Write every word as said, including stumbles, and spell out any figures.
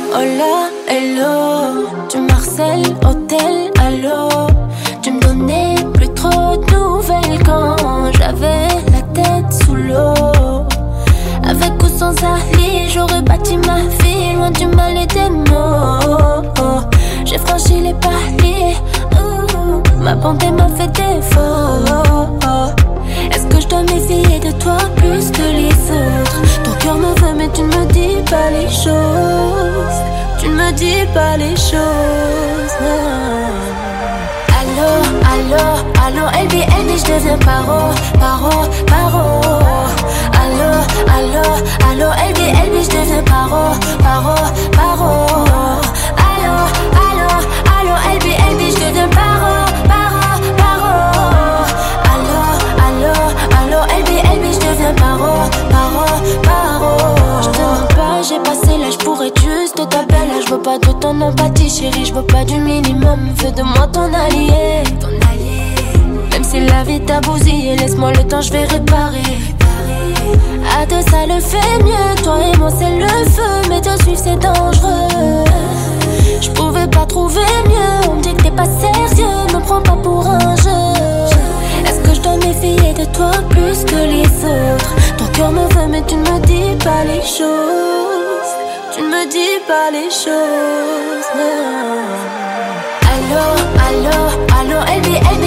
Hola, hello. Tu me harcèles, hôtel, allô. Tu me donnais plus trop de nouvelles quand j'avais la tête sous l'eau. Avec ou sans Ali, j'aurais bâti ma vie loin du mal et des maux. J'ai franchi les paliers, ouh, ma bonté m'a fait défaut. Est-ce que je dois méfier de toi plus que les autres? Ton cœur me veut mais tu ne me dis pas les choses. Tu ne me dis pas les choses, non. Allô, allô, allô, L B L B, je deviens paro, paro, paro. Allô, allô, allô, L B L B, je deviens paro, paro, paro. Allô, allô, allô, L B L B, je deviens paro, paro, paro. Allô, allô, allô, L B L B, je deviens paro, paro, paro. Je te mens pas, j'ai passé l'âge pour être juste ta belle. Je veux pas de ton empathie, chérie, je veux pas du minimum. Fais de moi ton allié, ton allié. Même si la vie t'a bousillé, laisse-moi le temps, je vais réparer. À deux ça le fait mieux, toi et moi c'est le feu. Mais te suivre c'est dangereux. Je pouvais pas trouver mieux, on me dit que t'es pas sérieux. Me prends pas pour un jeu. Est-ce que je dois méfier de toi plus que les autres? Ton cœur me veut mais tu ne me dis pas les choses. Tu ne me dis pas les choses, non. Allô, allô, allô, L B L B,